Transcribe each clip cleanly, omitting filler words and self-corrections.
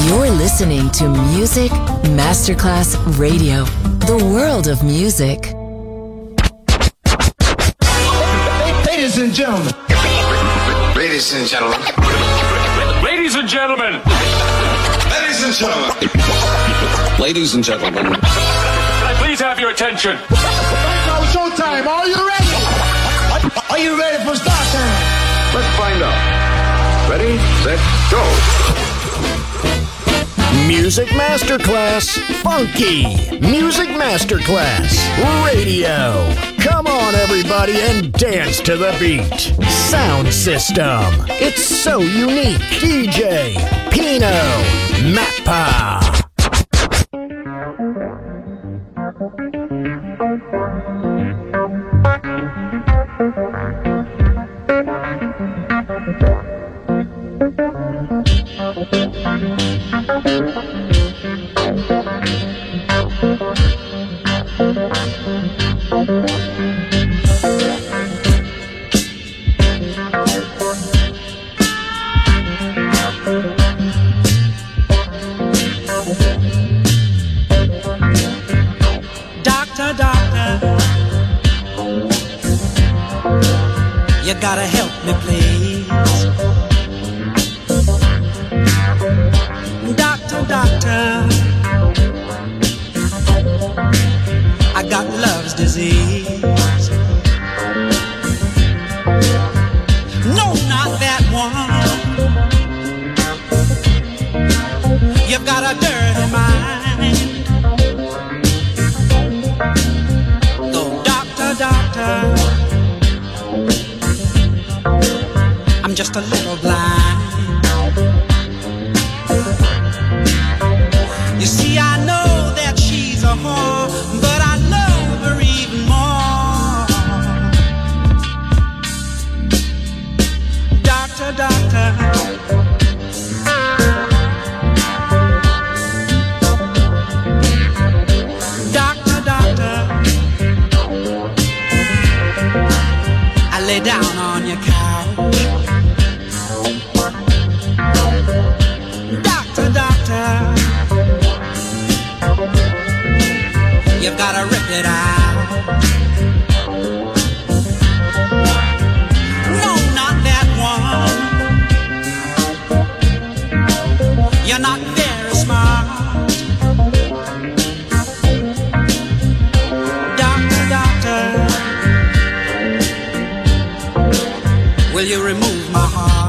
You're listening to Music Masterclass Radio, the world of music. Ladies and gentlemen. Ladies and gentlemen. Ladies and gentlemen. Ladies and gentlemen. Ladies and gentlemen. Can I please have your attention? Now showtime. Are you ready? Are you ready for start time? Let's find out. Ready, set, go. Music Masterclass Funky. Music Masterclass Radio. Come on, everybody, and dance to the beat. Sound system. It's so unique. DJ Pino Mappa. You gotta help me, please. Doctor, I got love's disease. No, not that one. You've got a dirty mind. Oh, doctor, I'm just a little blind. You see, I know that she's a whore, but I love her even more. Doctor, I lay down on your couch. Doctor, you've gotta rip it out. No, not that one. You're not very smart. Doctor, will you remove my heart?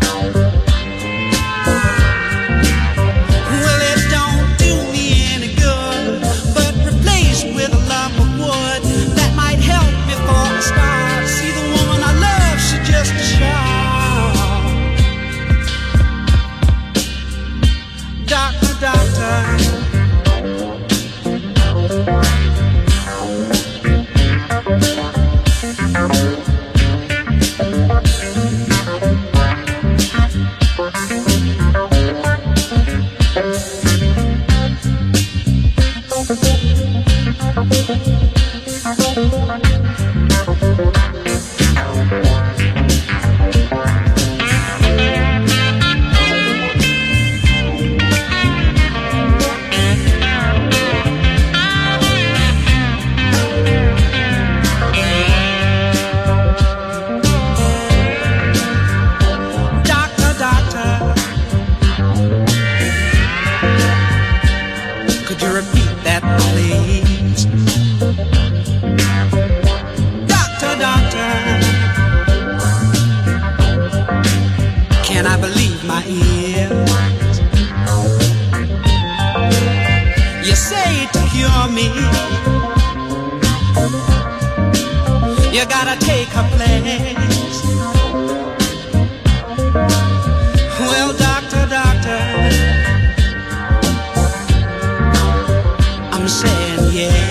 You gotta take her place. Well, doctor, I'm saying yeah.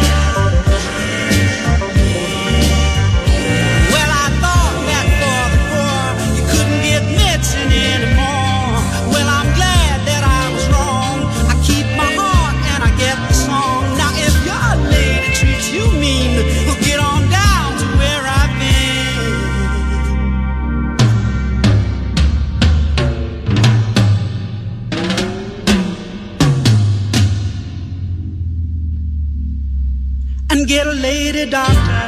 Well, I thought that for the poor you couldn't get medicine anymore. Well, I'm glad that I was wrong. I keep my heart and I get the song. Now, if your lady treats you mean, well, get on down to where I've been. get a lady doctor.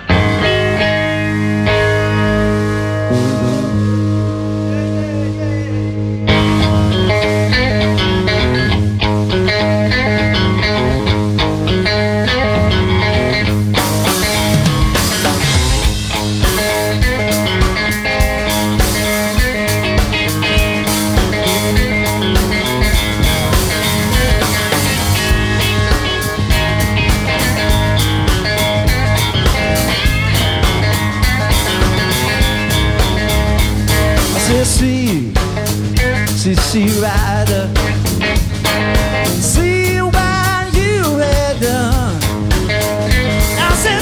See rider, see what you had done. I said,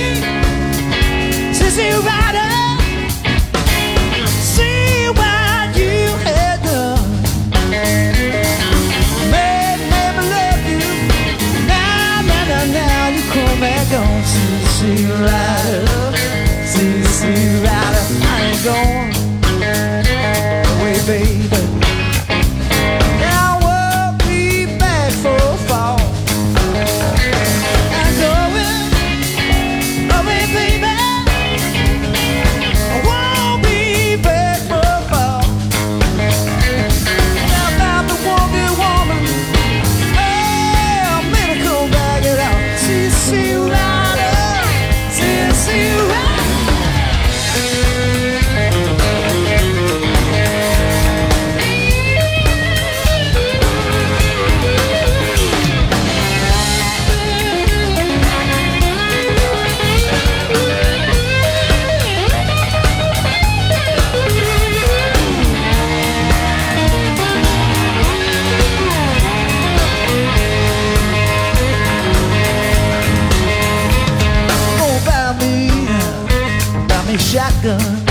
see rider, see what you had done. Made never love you. Now you come back on. See rider, see rider. I ain't going away, baby. Shotgun,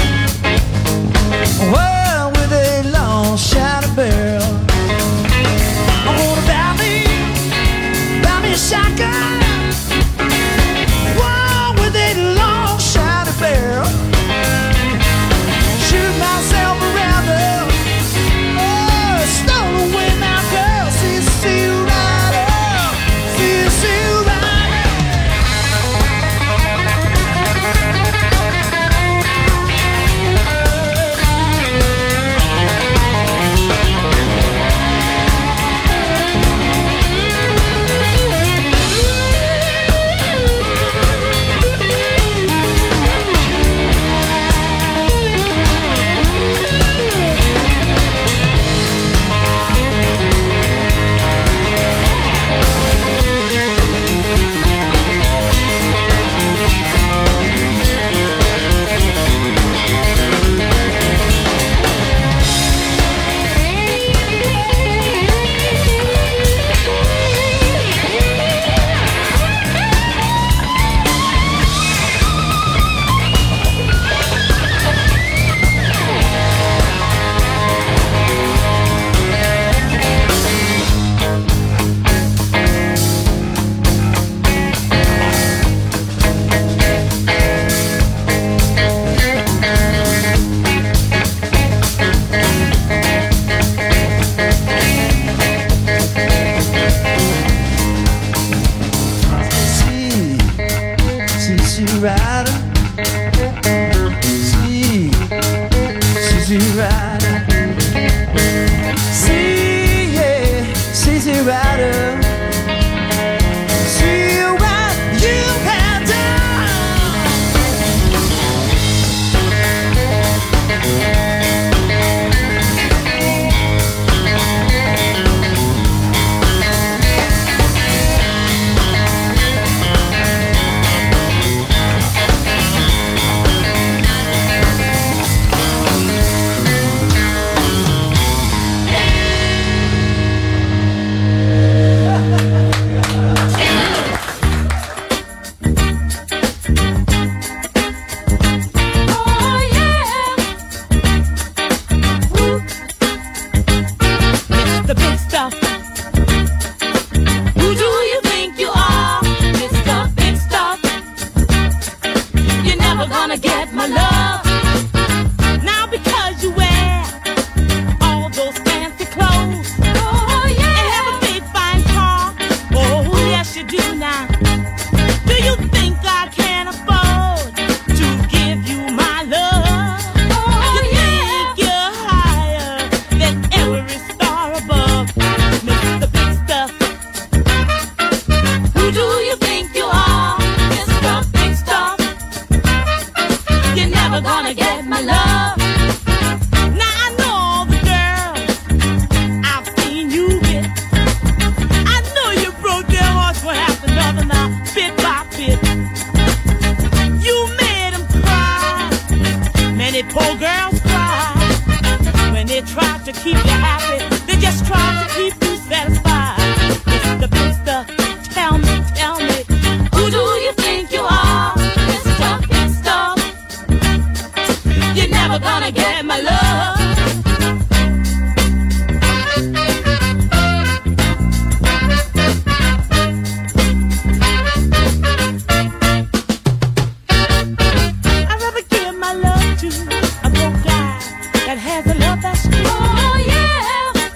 well, with a long shot barrel. I'm gonna buy me a shotgun, well, with a long shot barrel. Shoot myself around the, oh, stole away my girl. See you right up, see you right. Do you happy. They just try to keep you satisfied. Mr. Mister, tell me, who do you think you are? Mr. Mister, you're never gonna get my love. I'd rather give my love to a broke guy that has a love that's true. Oh yeah,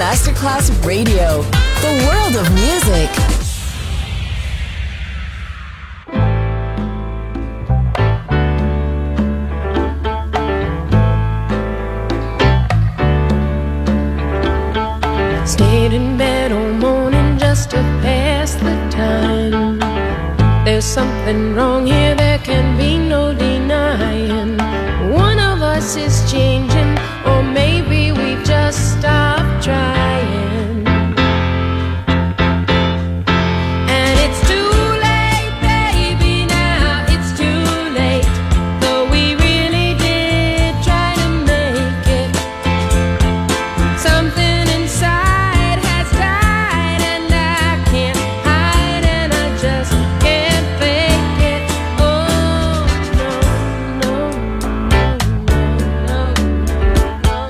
Masterclass Radio, the world of music. Stayed in bed all morning just to pass the time. There's something wrong here, there can be no denying. One of us is changing, or maybe we've just stopped trying. And it's too late, baby, now it's too late. Though we really did try to make it. Something inside has died, and I can't hide, and I just can't fake it. Oh, no, no, no, no, no,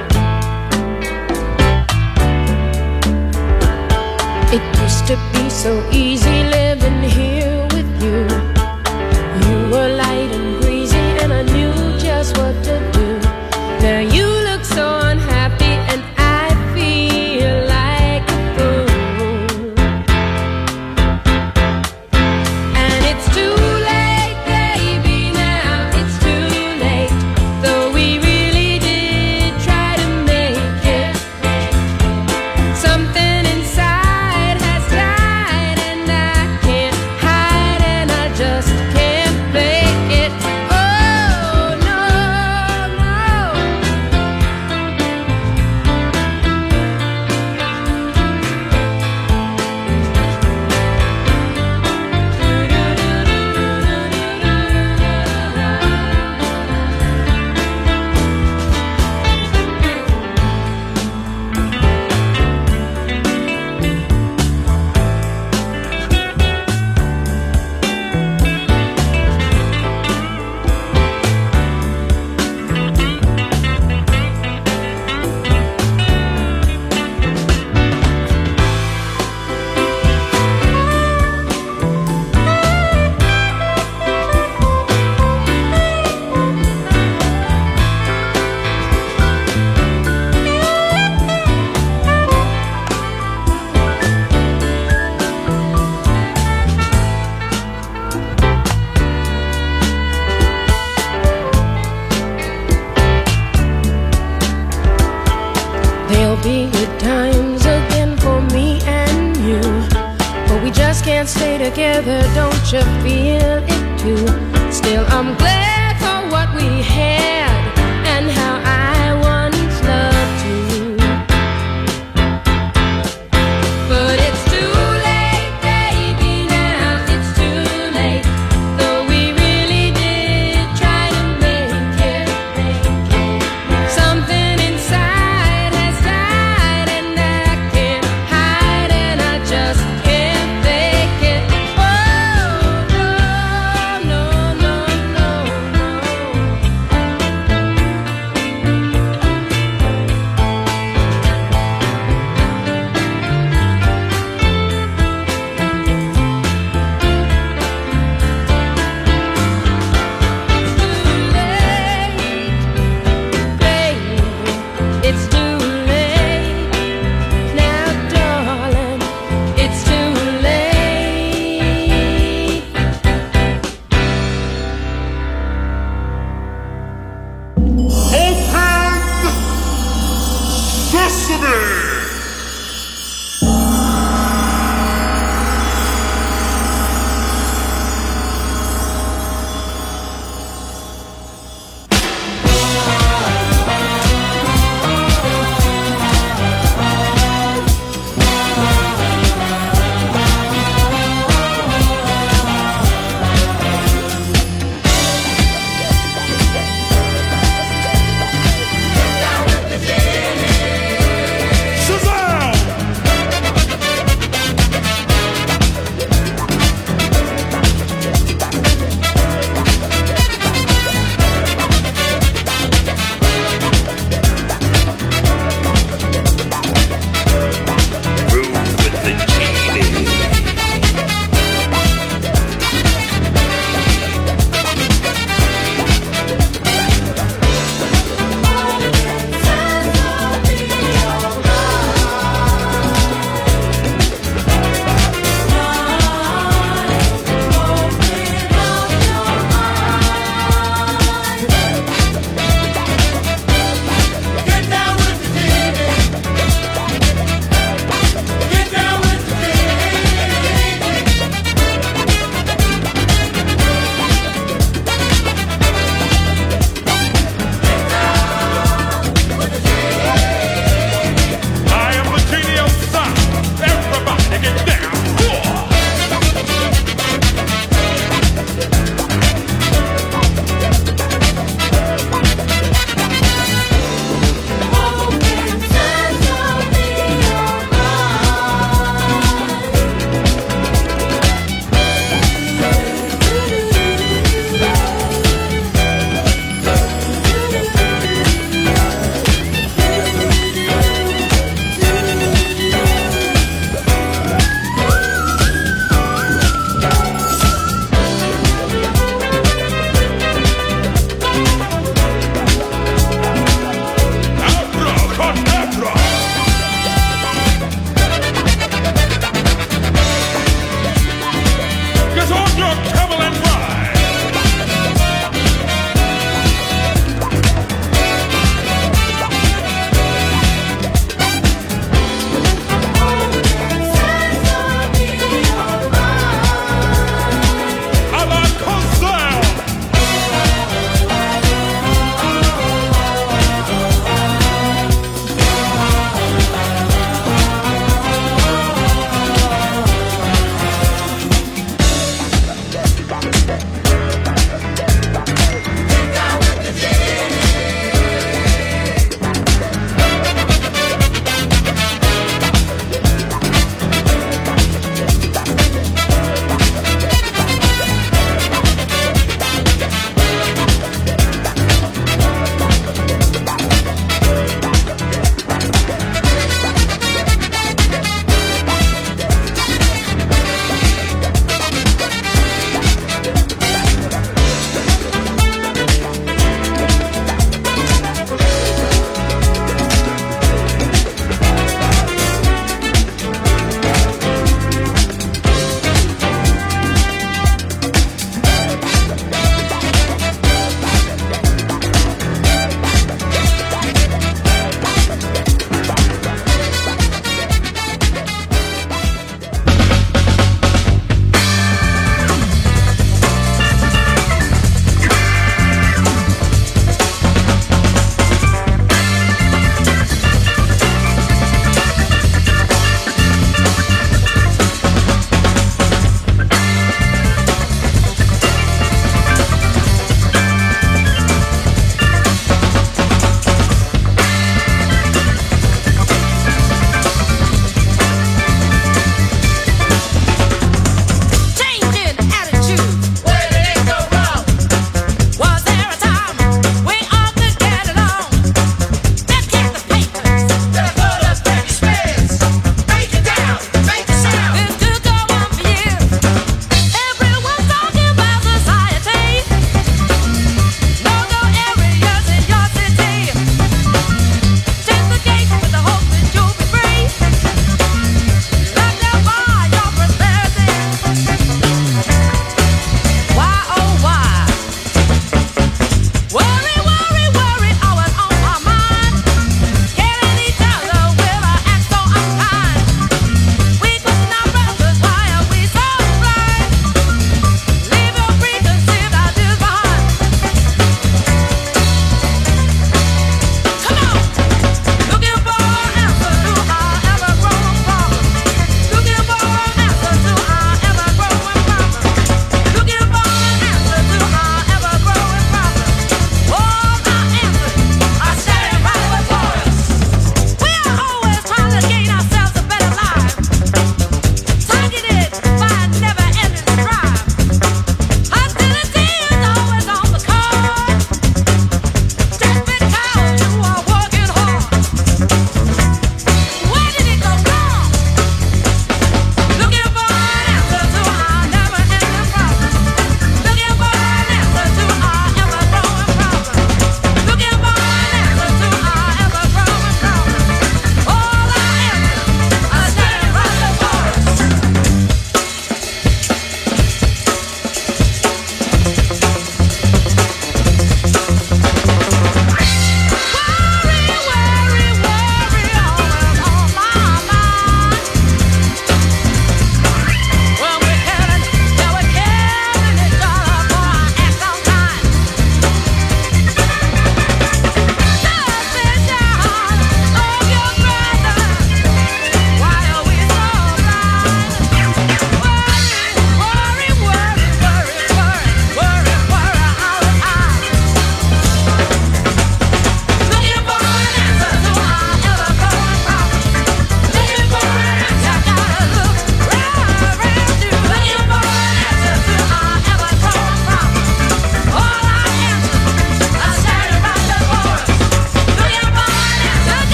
no. It used to be so easy living here with you. You were light and breezy, and I knew just what to do. Now you look so unhappy, and I feel like a fool. And it's too late, baby, now it's too late. Though we really did try to make it. Something inside has died, and I can't hide, and I just can't fake it. Oh, no, no. There'll be good times again for me and you, but we just can't stay together, don't you feel it too? Still, I'm glad for what we had and how I once loved you. But it's too late, baby, now it's too late. Though we really did try to make it. Something inside has died, and I can't hide, and I just can't fake it. Oh, no, no, no, no, no.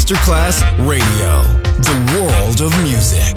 Masterclass Radio, the world of music.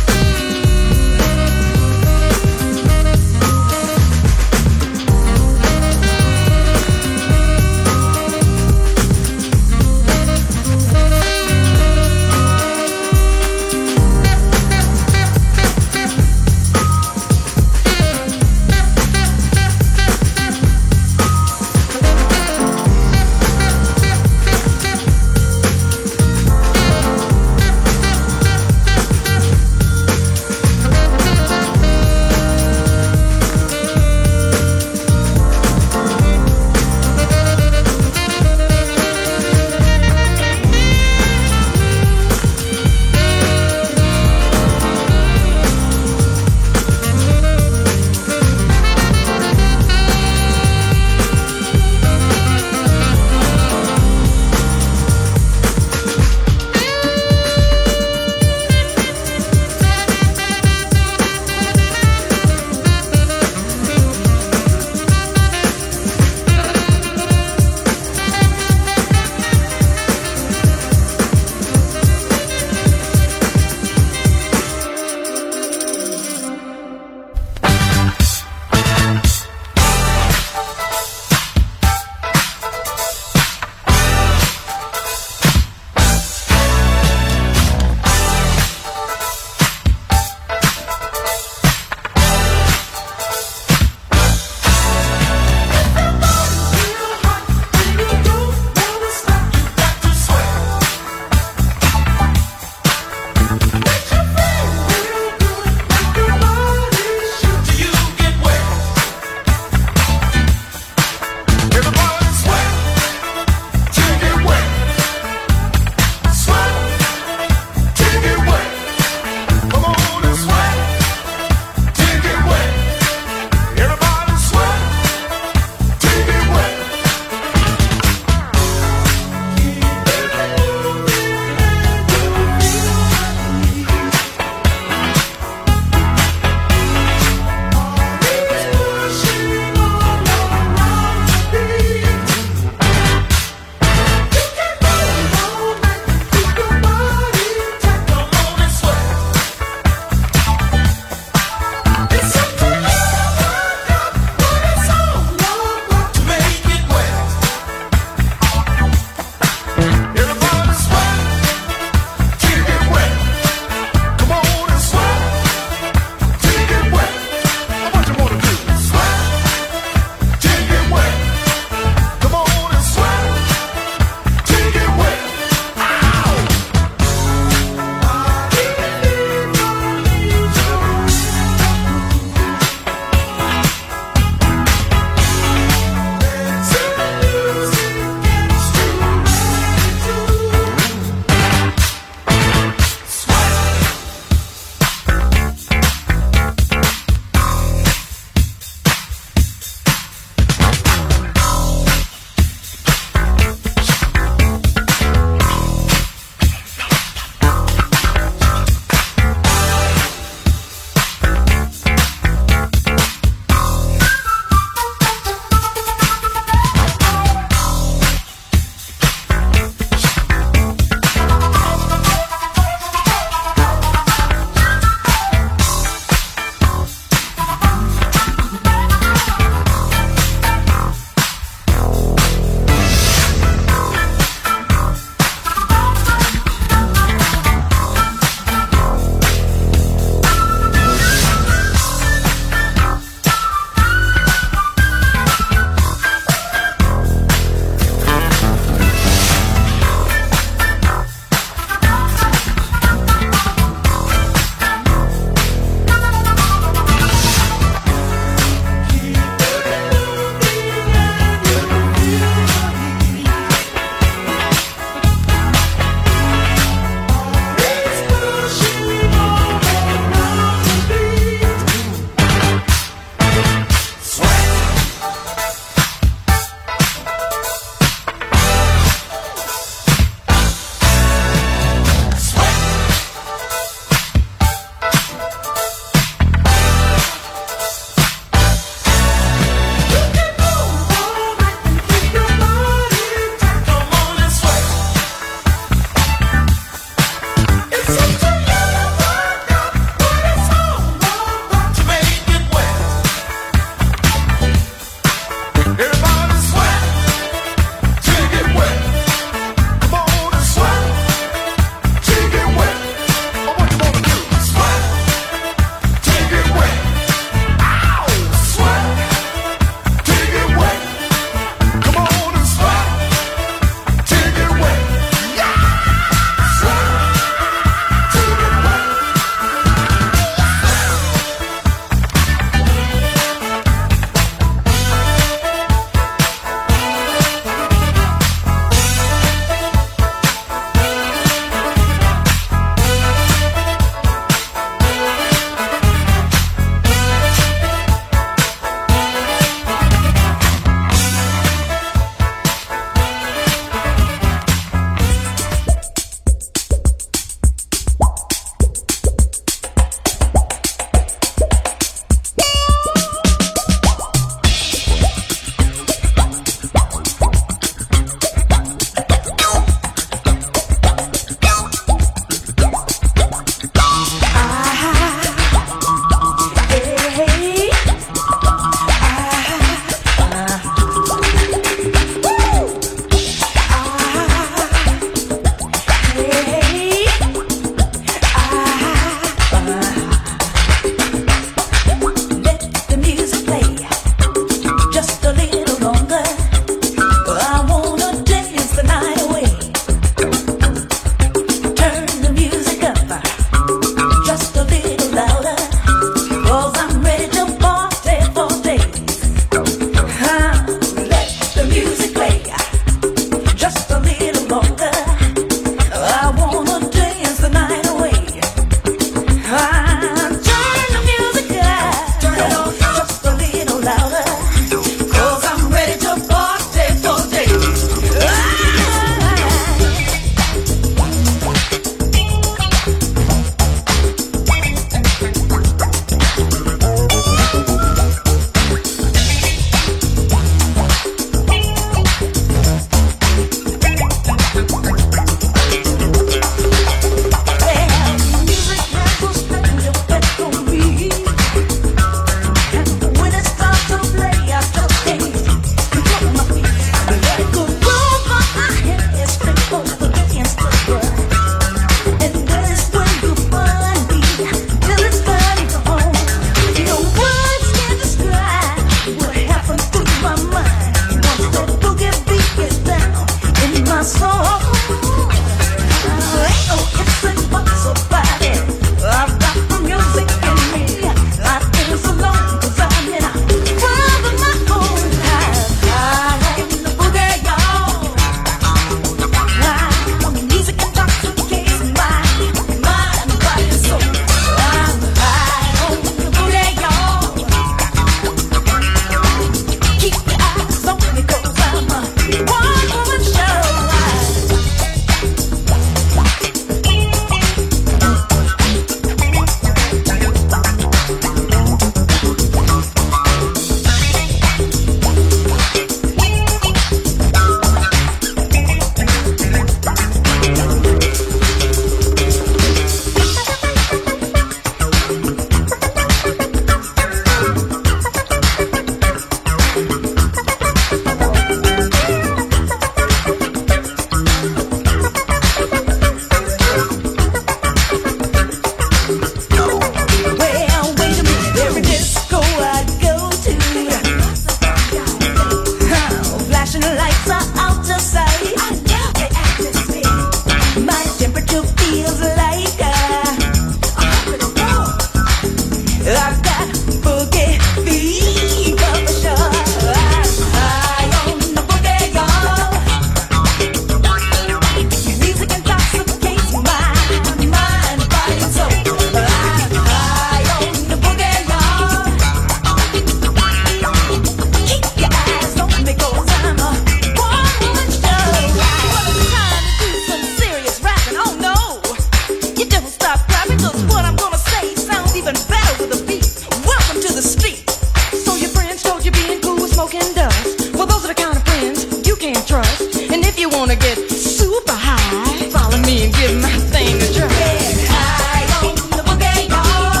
wanna get super high, follow me and give my thing a try. Get high on the boogie, y'all.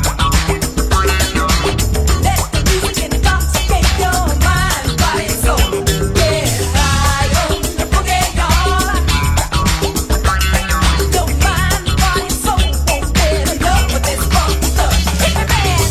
Let the music intoxicate your mind, body, and soul. Get high on the boogie, y'all. Your mind, body, and soul won't get enough with this funk stuff. Hit the band.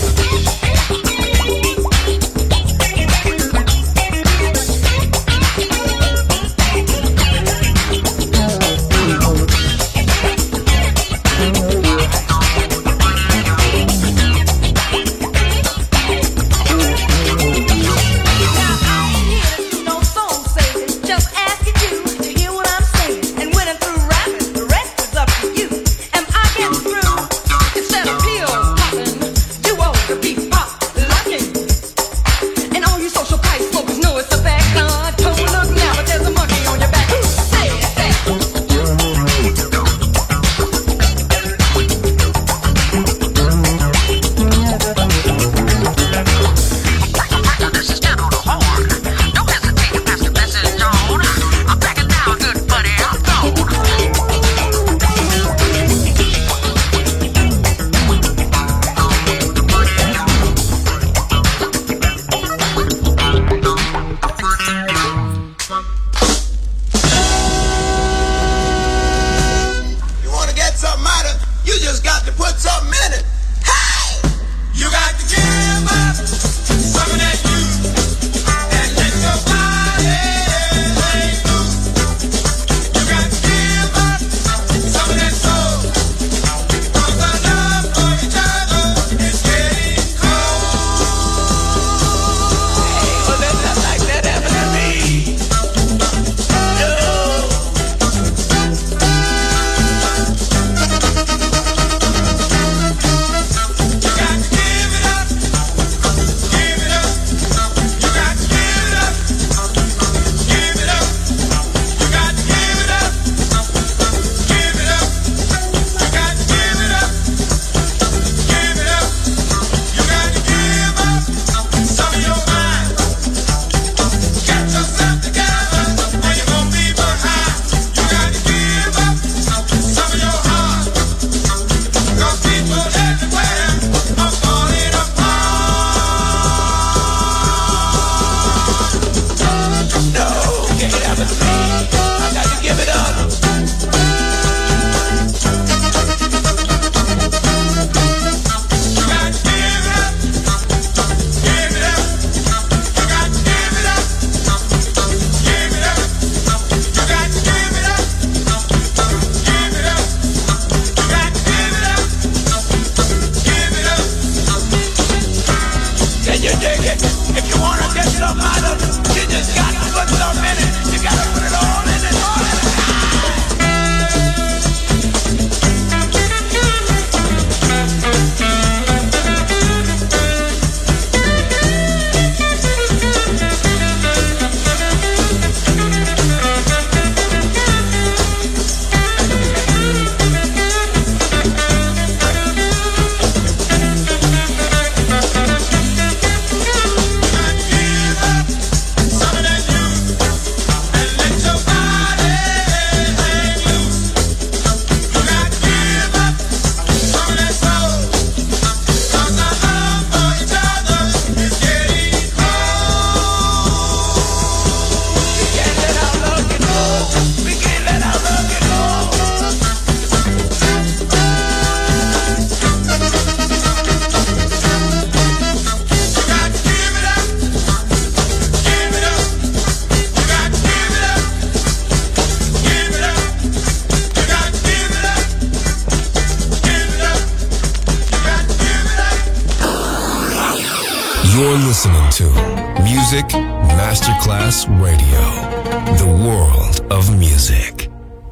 You're listening to Music Masterclass Radio, the world of music.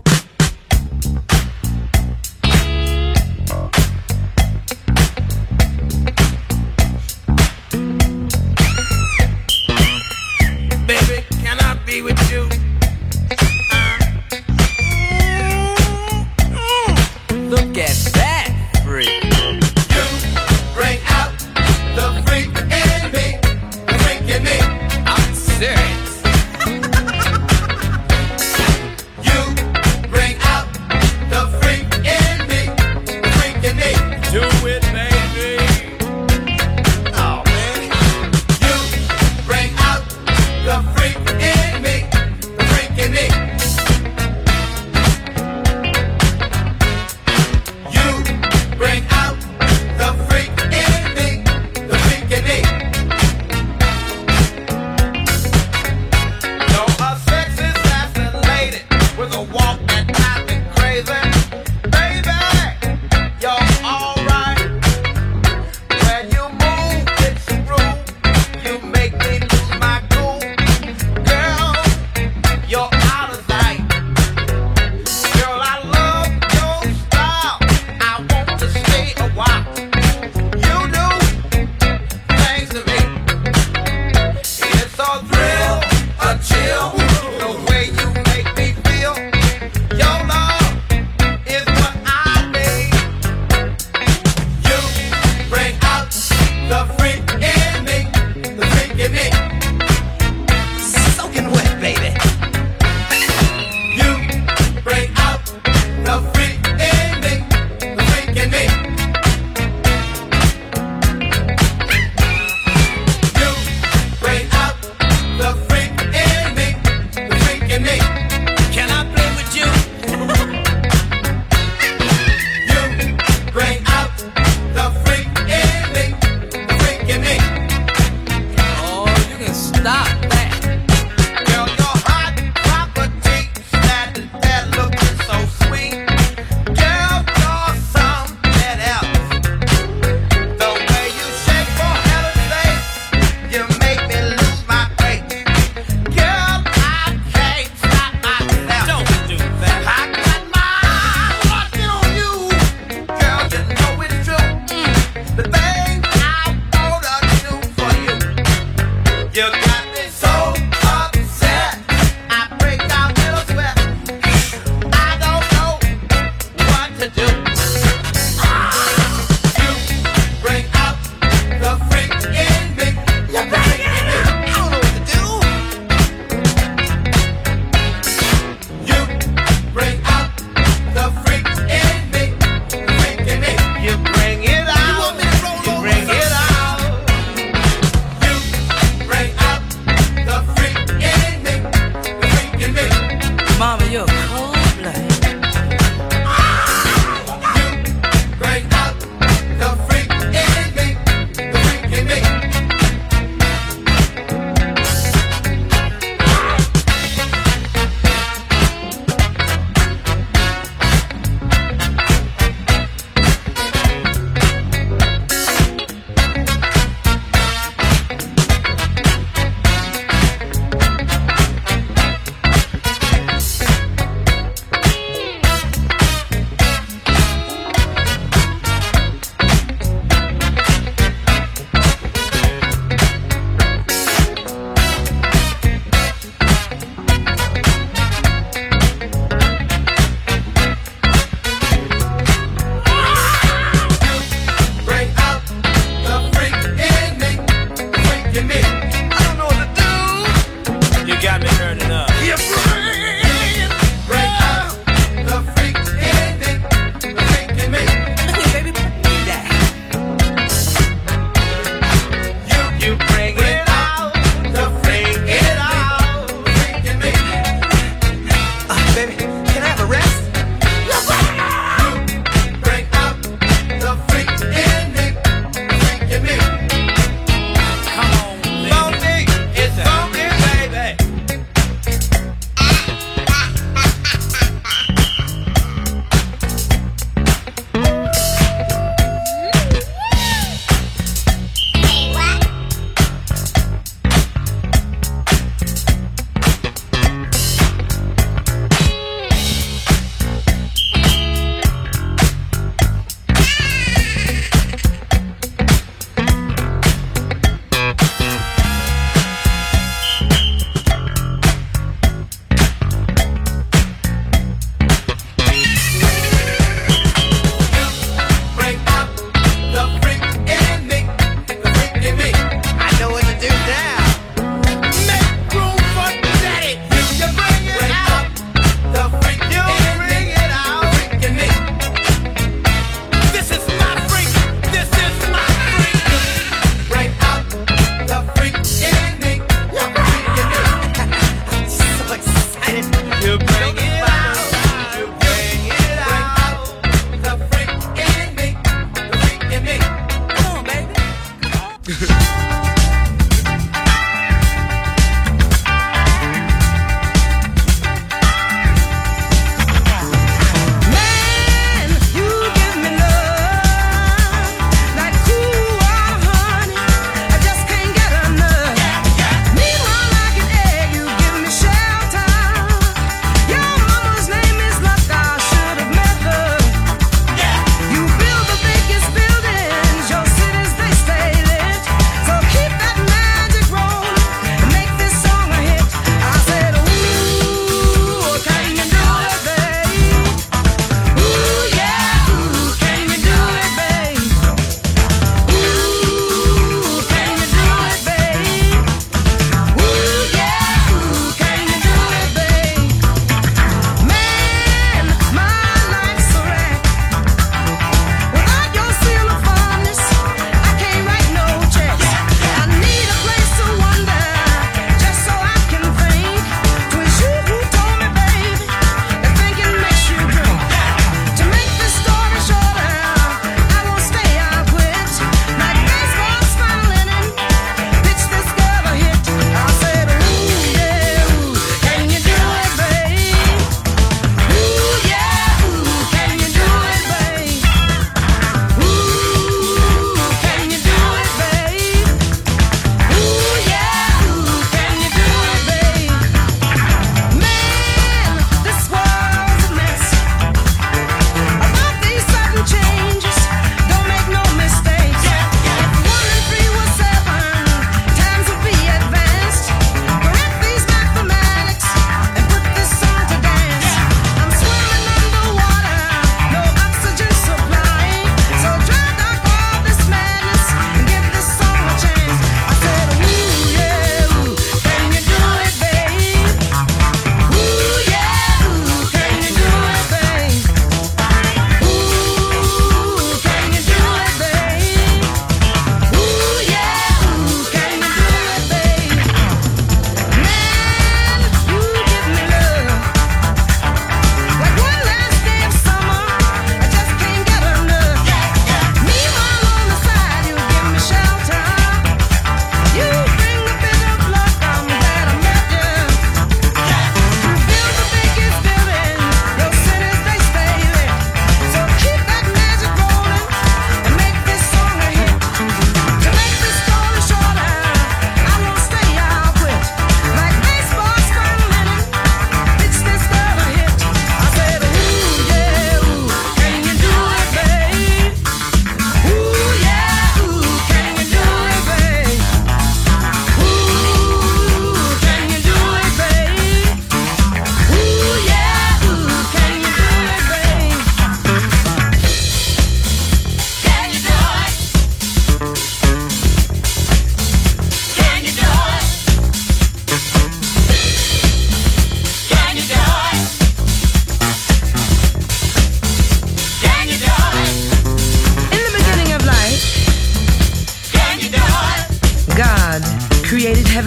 Baby, can I be with you? Look at that freak. You bring out the freak in me, the freak in me. I'm serious.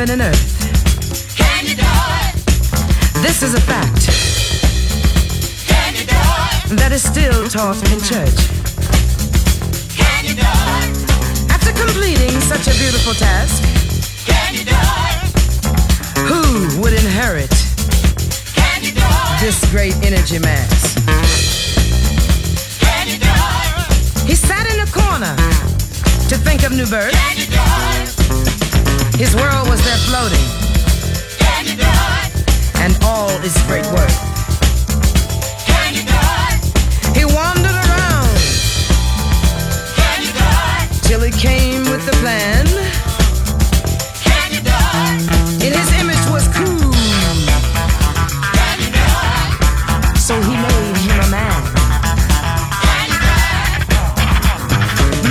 heaven and earth. Can you do it? This is a fact Can you do it? that is still taught in church. Can you do it? After completing such a beautiful task, Can you do it? who would inherit Can you do it? this great energy mass? Can you do it? He sat in a corner to think of new birth. Can you do it? His world was there floating, Can you do it? and all is great worth. Can you do it? He wandered around Can you do it? till he came with the plan. Can you do it? In his image was cool, Can you do it? so he made him a man. Can you do it?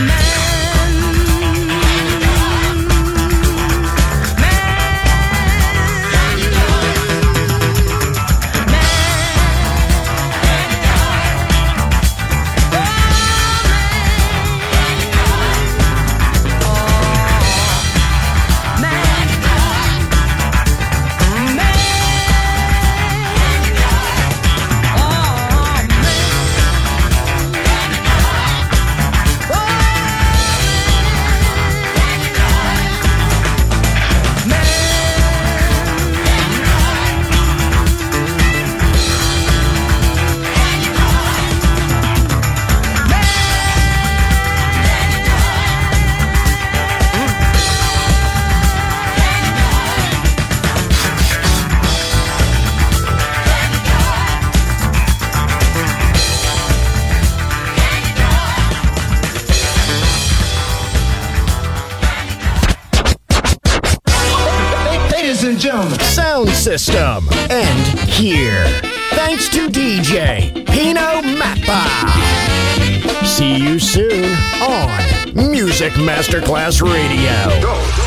Ladies and gentlemen, Sound system. And here. Thanks to DJ Pino Mappa. See you soon on Music Masterclass Radio. Go.